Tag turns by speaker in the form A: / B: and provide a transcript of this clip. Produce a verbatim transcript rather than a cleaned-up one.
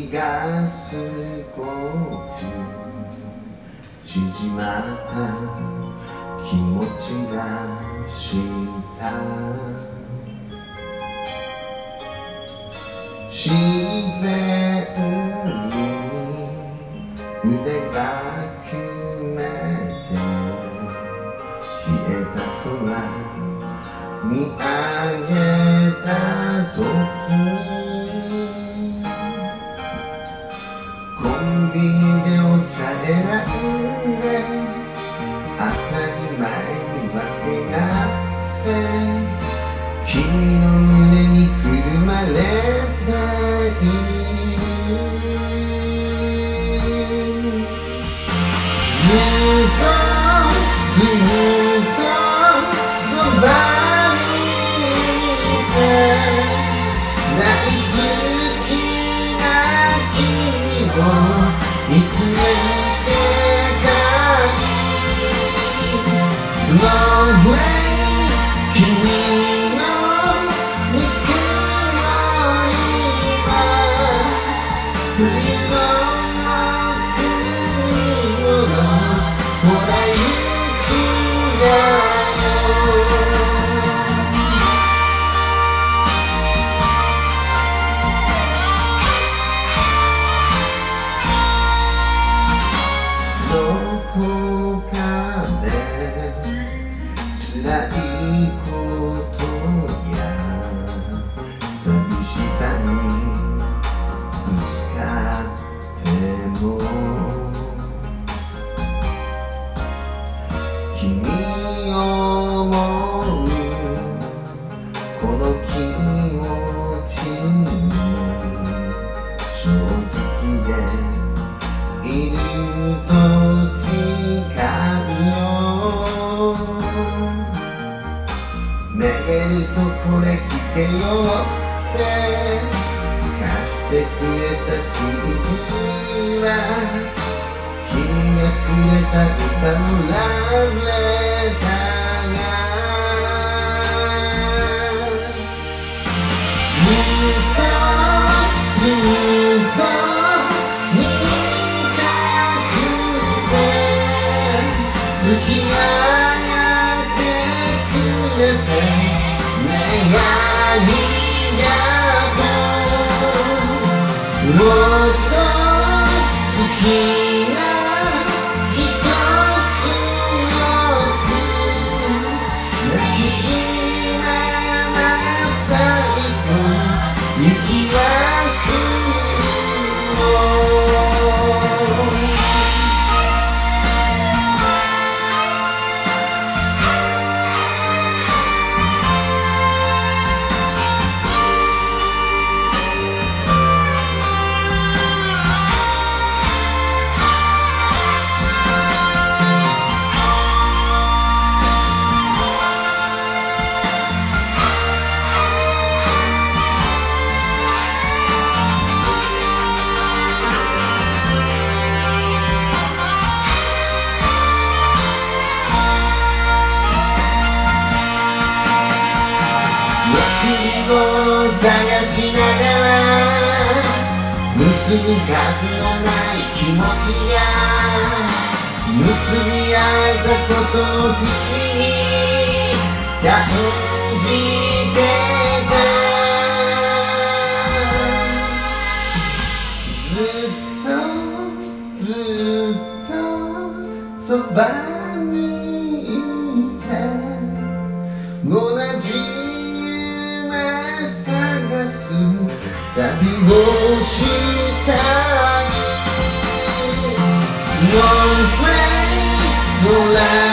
A: りが少し縮まった気持ちがした自然に腕が決めて冷えた空見上げた時にコンビニでお茶選んで当たり前に分け合って君の胸にくるまれているずっとずっとそばにいて大好きな君を見つめてたい Slow way 君のぬくもりは冬の贈り物もらいくらどこかで辛いことや寂しさにぶつかっても君を思うこの気持ちに正直でいると誓うよめげるとこれ聞けよって貸してくれた シーディー は君がくれた歌のラブレターがずっとずっと月がやってくれて願いがともっと好きなひとつよく抱きしめなさいと雪は降る探しながら結ぶ数のない気持ちが結び合えたことを不思議感じてたずっとずっとそばにいて同じ探す旅をしたい Slow place 空